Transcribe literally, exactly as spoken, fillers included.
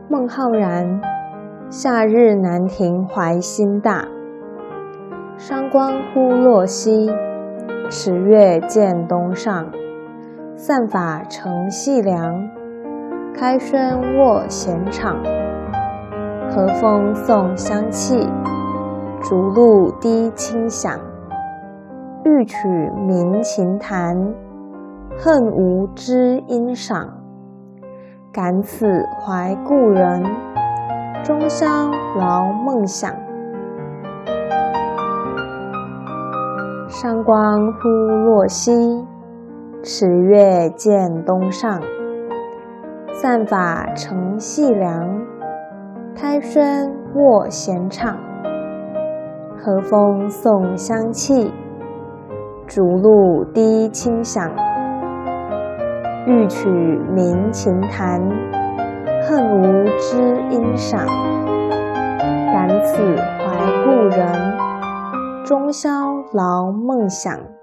孟浩然，夏日南亭怀心大。山光忽若西，池月渐东上。散发乘细凉，开轩卧闲场。和风送香气，竹露滴清响。欲取鸣琴弹，恨无知音赏。感此怀故人，终宵劳梦想。山光忽若西，池月渐东上。散发乘细凉，开轩卧闲场。和风送香气，竹露滴清响。欲取鸣琴弹，恨无知音赏。感此怀故人，终宵劳梦想。